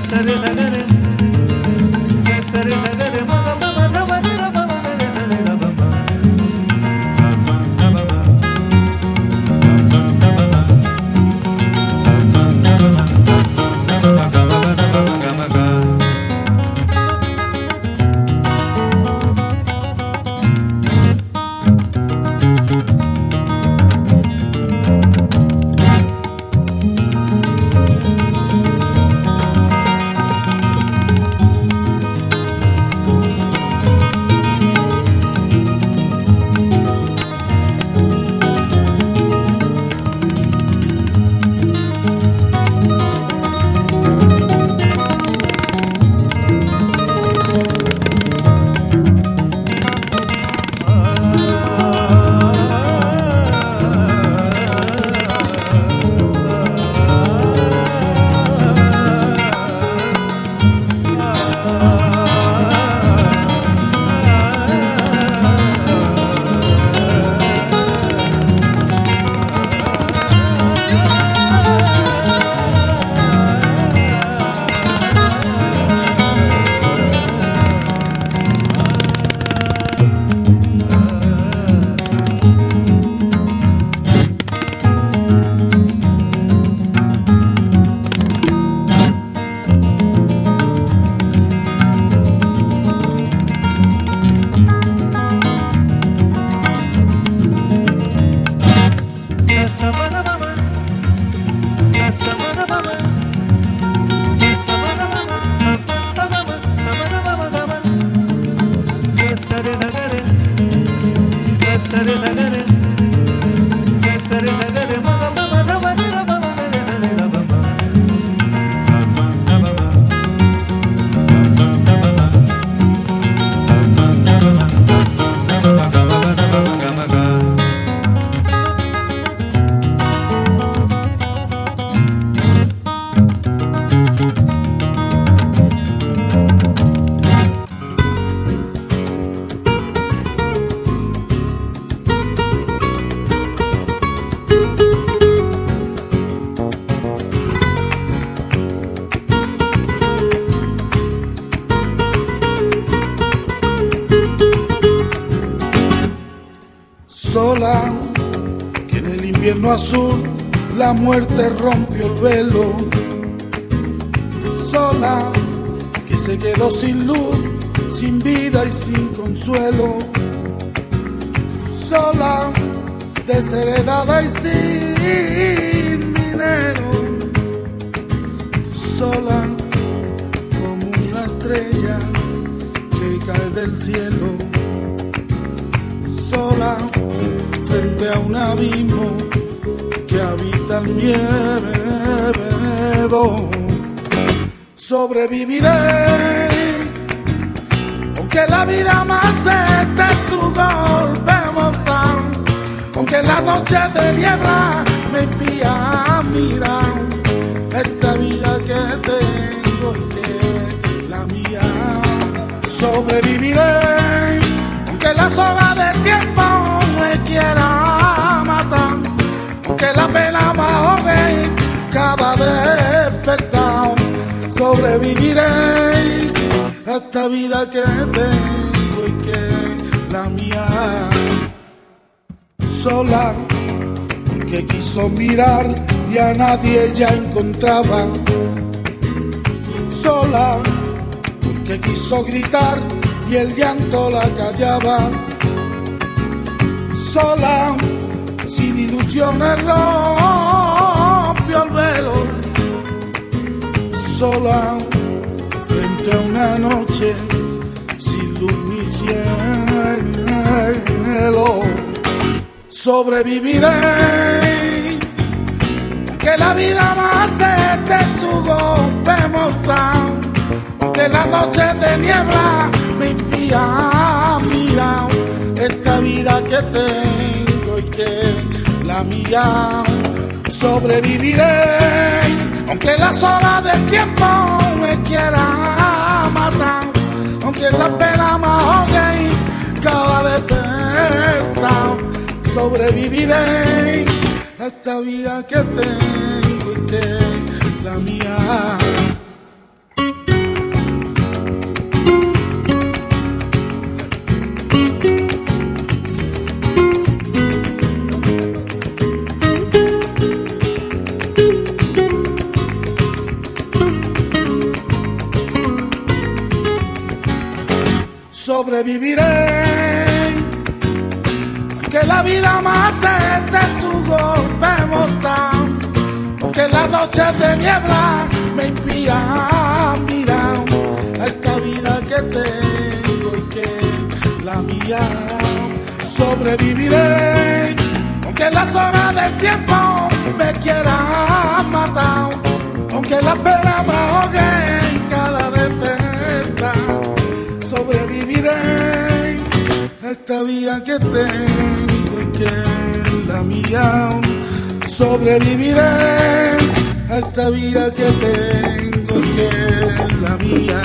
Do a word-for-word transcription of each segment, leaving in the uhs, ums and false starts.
sola, que en el invierno azul la muerte rompió el velo. Sola, que se quedó sin luz, sin vida y sin consuelo. Sola, desheredada y sin dinero. Sola, como una estrella que cae del cielo. Sola, frente a un abismo que habita el miedo. Sobreviviré, aunque la vida me acepte su golpe mortal, aunque la noche de niebla me impida mirar esta vida que tengo y que es la mía. Sobreviviré, aunque la soga del tiempo me quiera matar, aunque la pena me ahogue cada despertar. Sobreviviré a esta vida que tengo y que es la mía. Sola, porque quiso mirar y a nadie ya encontraba. Sola, porque quiso gritar y el llanto la callaba. Sola, sin ilusiones rompió el velo. Sola, frente a una noche sin luz ni cielo. Sobreviviré, que la vida me acepte su golpe mortal, aunque la noche de niebla me impida mirar esta vida que tengo y que es la mía. Sobreviviré, aunque la soga del tiempo me quiera matar, aunque la pena me ahogue cada despertar. Sobreviviré a esta vida que tengo y que es la mía. sobreviviré, aunque la vida me acepte su golpe mortal, aunque las noches de niebla me impidan mirar a esta vida que tengo y que es la mía. Sobreviviré, aunque las horas del tiempo me quieran matar, aunque la pena me ahogue en cada despertar. Sobreviviré a esta vida que tengo y que es la mía. Sobreviviré a esta vida que tengo y que es la mía.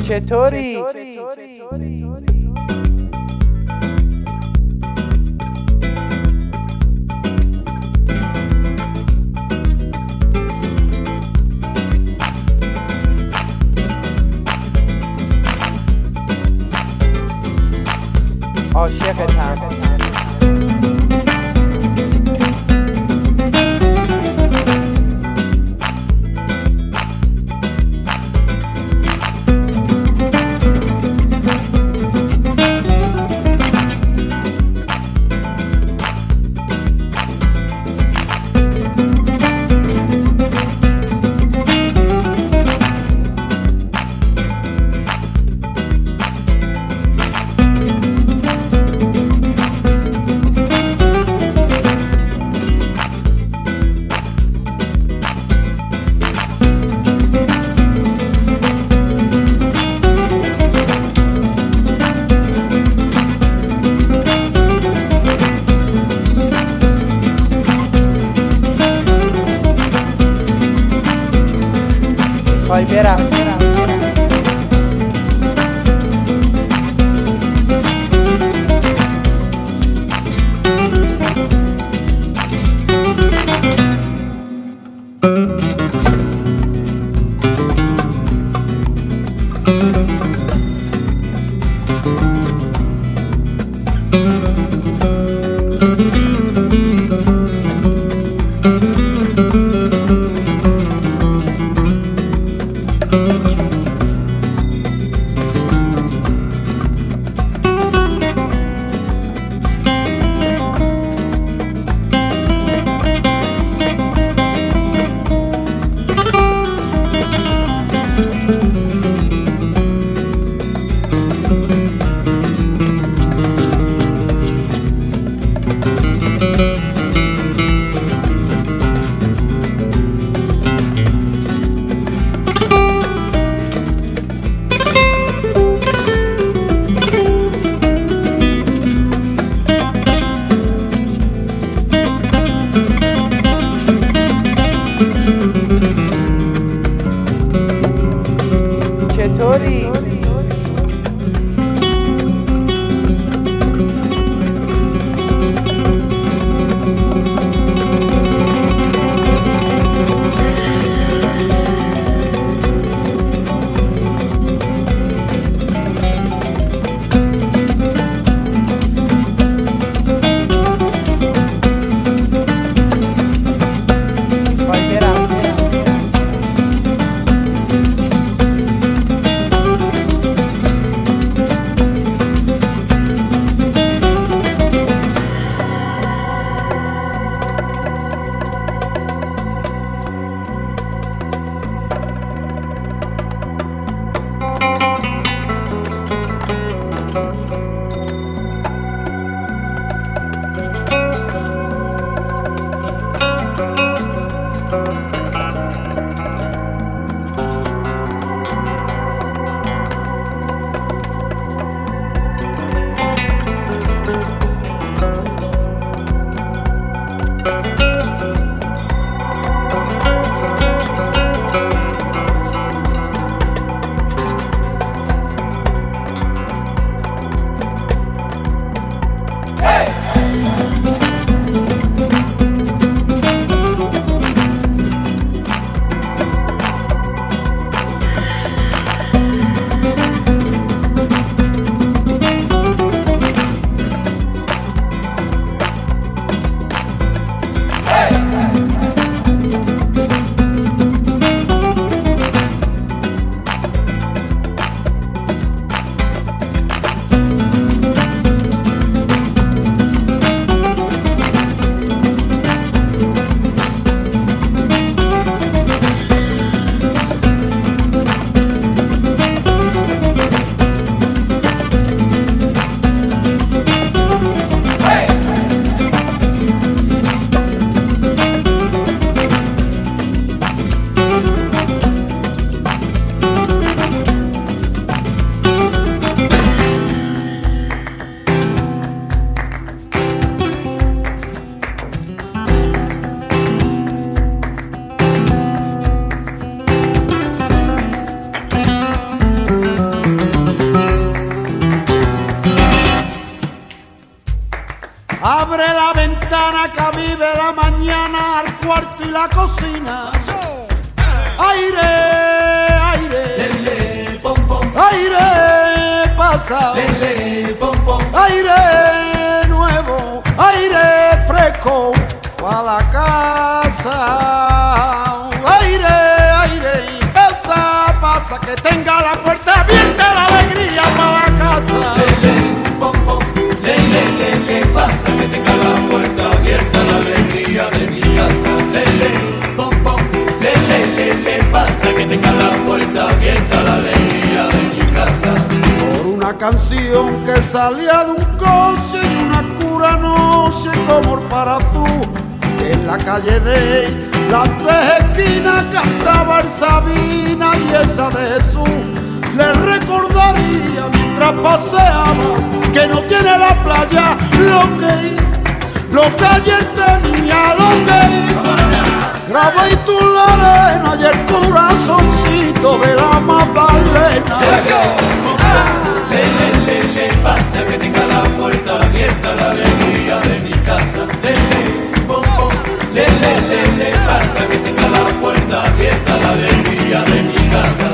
چطوری؟ عاشقتم. خواهی برقصی anciana que vive la mañana al cuarto y la cocina. Aire, aire, lele, pom, pom. Aire pasa, Lele, pom, pom. Aire nuevo, aire fresco para la casa. Aire, aire, pasa, pasa, que tenga la puerta abierta, la alegría para la casa. Lele, pom, pom. Lele, lele, pasa, que tenga la puerta abierta, la alegría de mi casa. Lele, pom, pom. Lele, lele, pasa, que tenga la puerta abierta, la alegría de mi casa. Por una canción que salía de un coche y una cura noche como el parazú. En la calle de las tres esquinas cantaba el Sabina y esa de Jesús. Le recordaría mientras paseaba que no tiene la playa lo que, lo que ayer tenía, lo que grabé y tú la arena y el corazoncito de la Magdalena. Lele, lele, pasa, que tenga la puerta abierta, la alegría de mi casa. Lele, pom, pom. Lele, lele, pasa, que tenga la puerta abierta, la alegría de mi casa.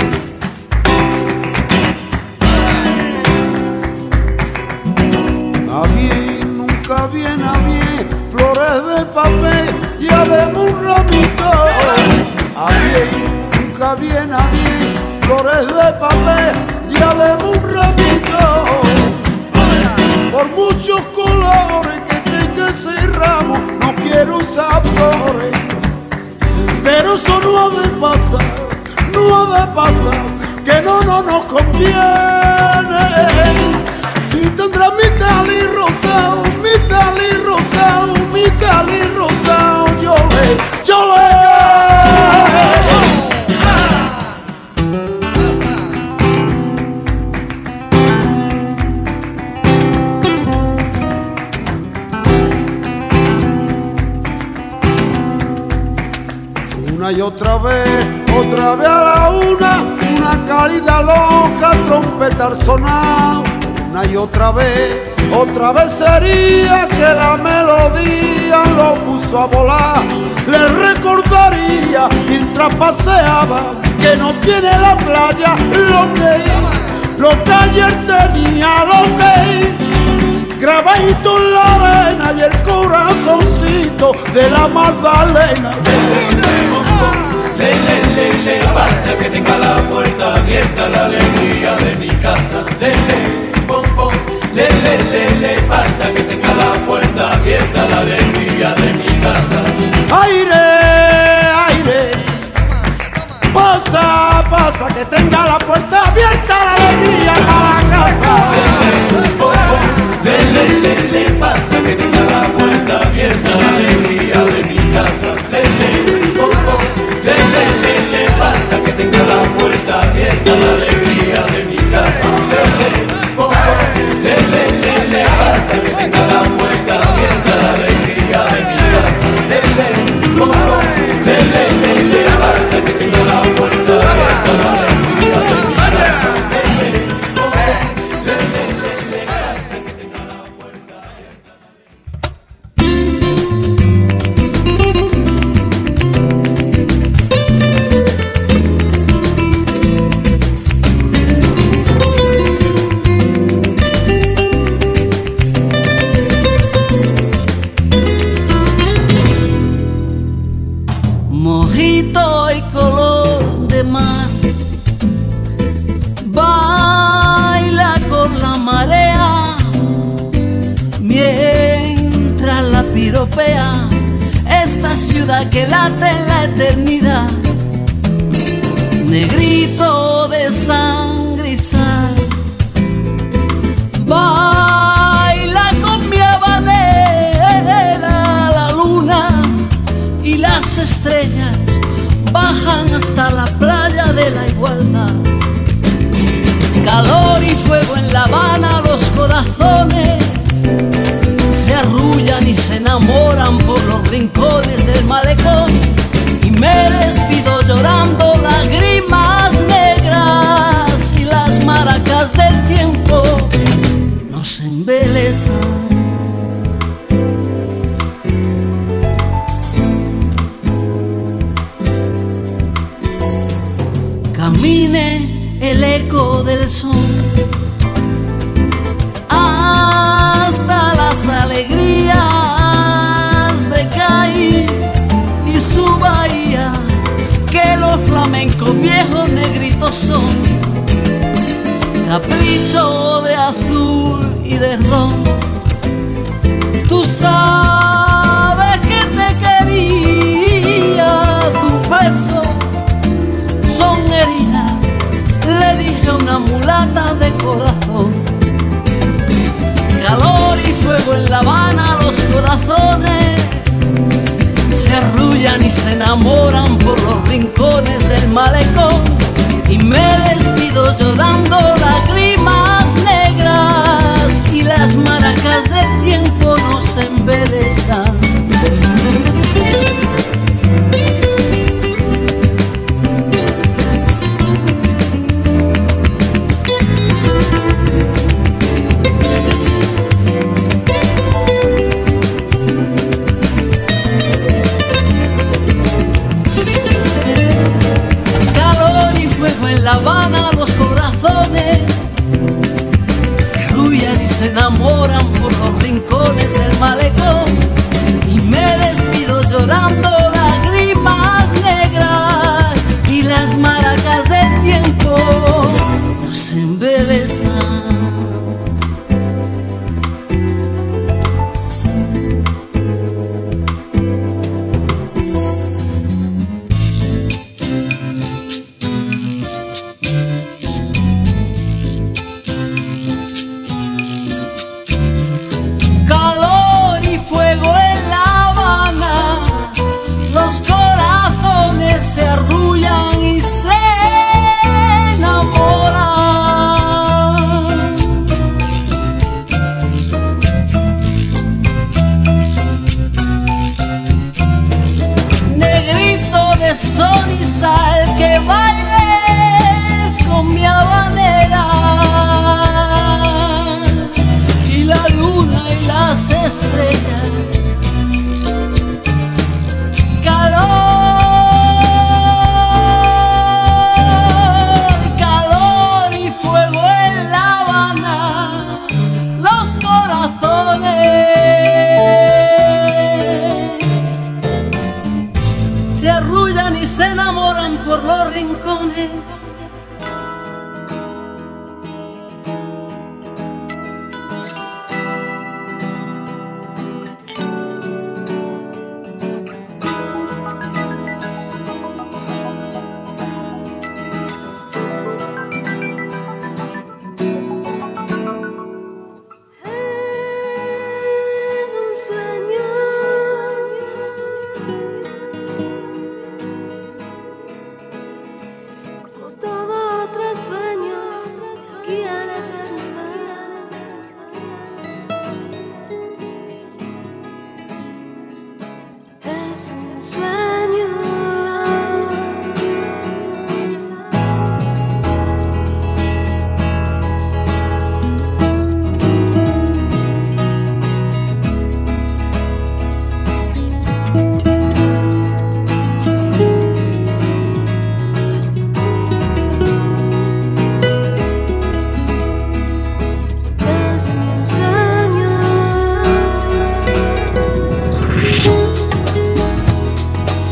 A bien, nunca viene a bien, flores de papel y además un ramito. A bien, nunca viene a bien, flores de papel y además un ramito. Por muchos colores que tenga ese ramo, no quiero usar flores. Pero eso no ha de pasar, no ha de pasar, que no, no nos conviene. Si tendrá mi tali rosado, mi tali rosado, mi tali rosado, yo le, yo le. Una y otra vez, otra vez a la una, una cálida loca, trompeta al sonar. Una y otra vez, otra vez sería que la melodía lo puso a volar. Le recordaría mientras paseaba que no tiene la playa lo que, lo que ayer tenía, lo que grabadito en la arena y el corazoncito de la Magdalena. Lele, lele, pasa, que tenga la puerta abierta, la alegría de mi casa. Lele, pom, pom. Lele, lele, pasa, que tenga la puerta abierta, la alegría de mi casa. Aire, aire, pasa, pasa, que tenga la puerta abierta, la alegría para la casa. Lele, pom, pom. Lele, lele, pasa, que tenga la puerta abierta, la alegría de mi casa. Lele, pom, pom. Lele, lele, pasa, que tenga la puerta abierta, la alegría de mi casa. Lele, pom, pom. Lele, lele, pasa, que tenga la puerta abierta, la alegría de mi casa. Lele, pom, pom. Lele, lele, pasa, que tenga la puerta abierta, la alegría de mi casa. Lele, pom, pom. Lele, lele, pasa, que tenga la puerta abierta. Mojito y color de mar, baila con la marea mientras la piropea esta ciudad que late en la eternidad. Negrito de sangre y sal, baila con mi habanera, la luna y las estrellas bajan hasta la playa de la igualdad. Calor y fuego en La Habana, los corazones se arrullan y se enamoran por los rincones del malecón. Y me despido llorando, lágrimas negras y las maracas del tiempo nos embelezan. bicho de azul y de ron. Tú sabes que te quería, tus besos son heridas, le dije a una mulata de corazón. Calor y fuego en La Habana, los corazones se arrullan y se enamoran por los rincones del malecón. Y me despido llorando lágrimas negras y las maracas del tiempo nos embelezan. En La Habana los corazones se arrullan y se enamoran por los rincones del malecón. Y me despido llorando lágrimas negras y las maracas del tiempo nos embelezan. Se arrullan y se enamoran. Negrito de sol y sal, que bailes con mi habanera. Y la luna y las estrellas. Calor. Se arrullan y se enamoran por los rincones. Es un sueño. Es un sueño.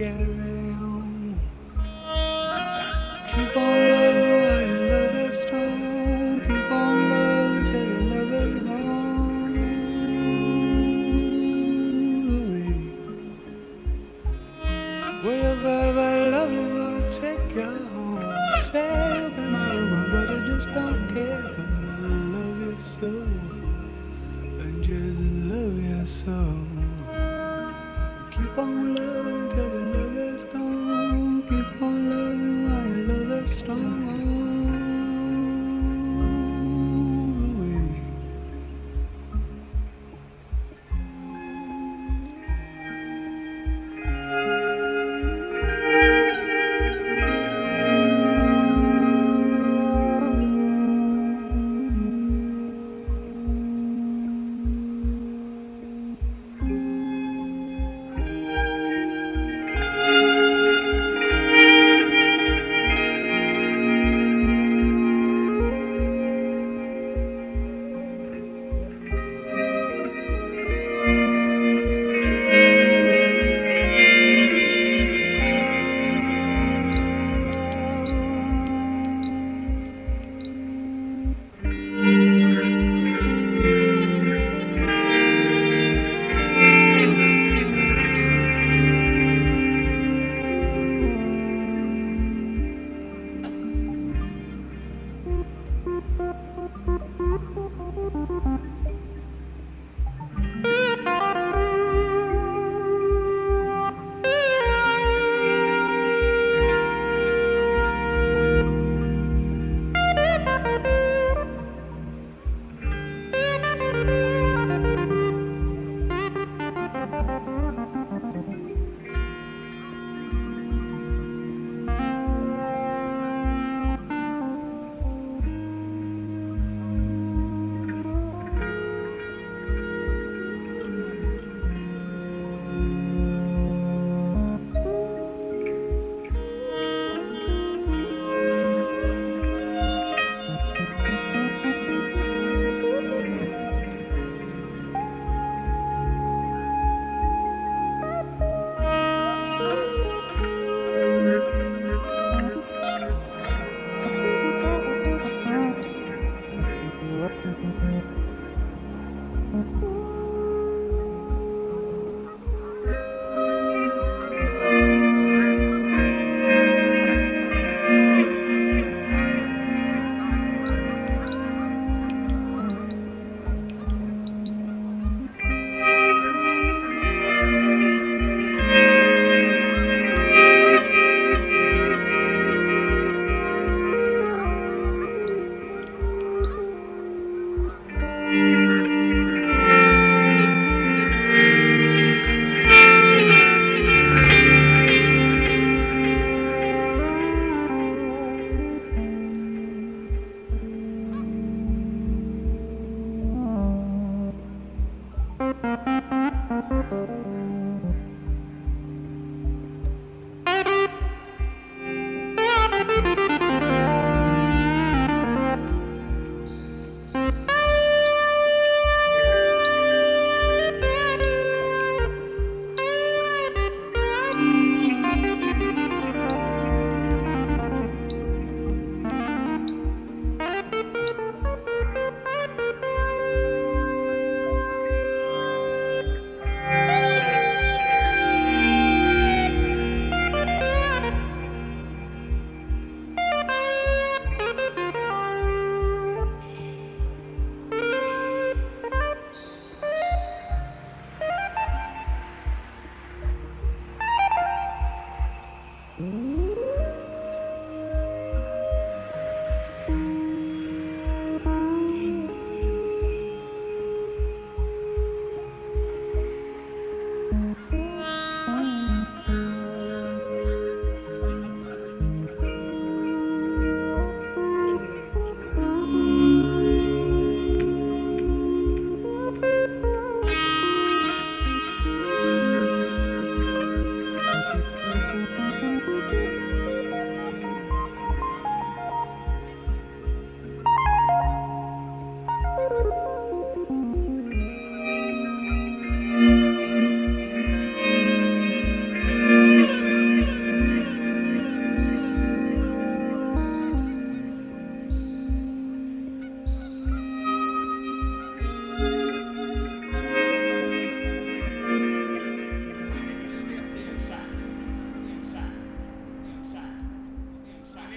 get around. Keep on loving while your love is strong. Keep on loving till your love is gone away. Well, your very, very lovely will take you home. Say that my room, but I just don't care. 'Cause I love you so. I just love you so. Keep on loving till your love is gone. Keep on loving while your love is strong.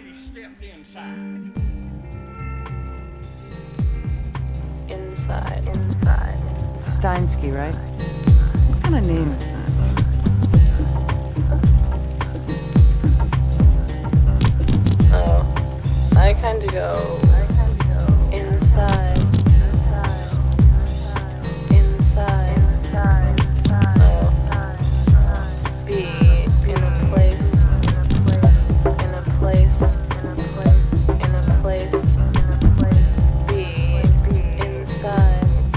lady stepped inside. Inside, inside. It's Steinsky, right? What kind of name is that? Oh, I kind of go inside, inside. Oh, be in a place, in a place, in a place, be inside.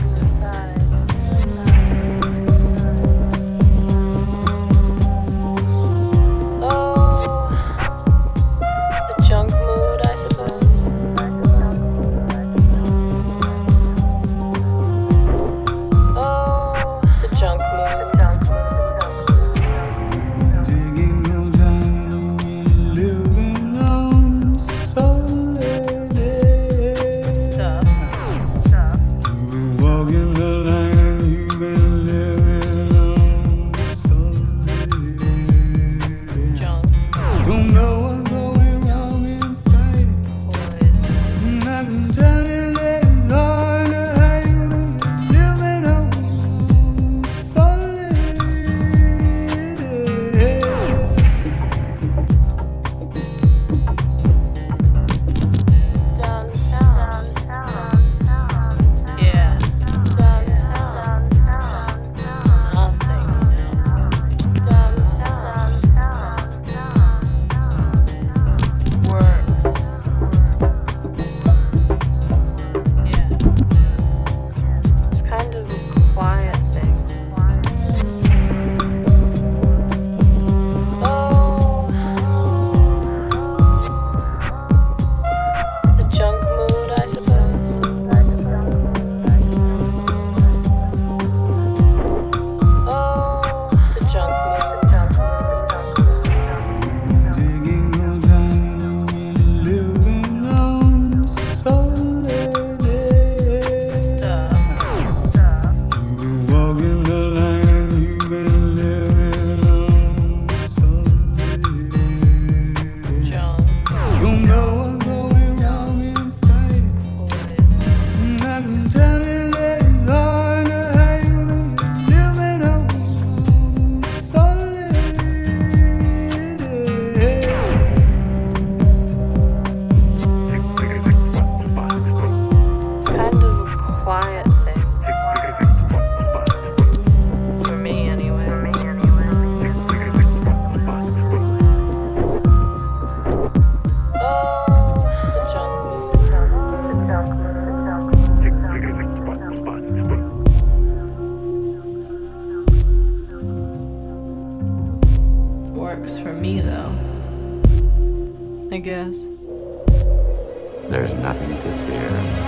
Works for me, though. I guess. There's nothing to fear.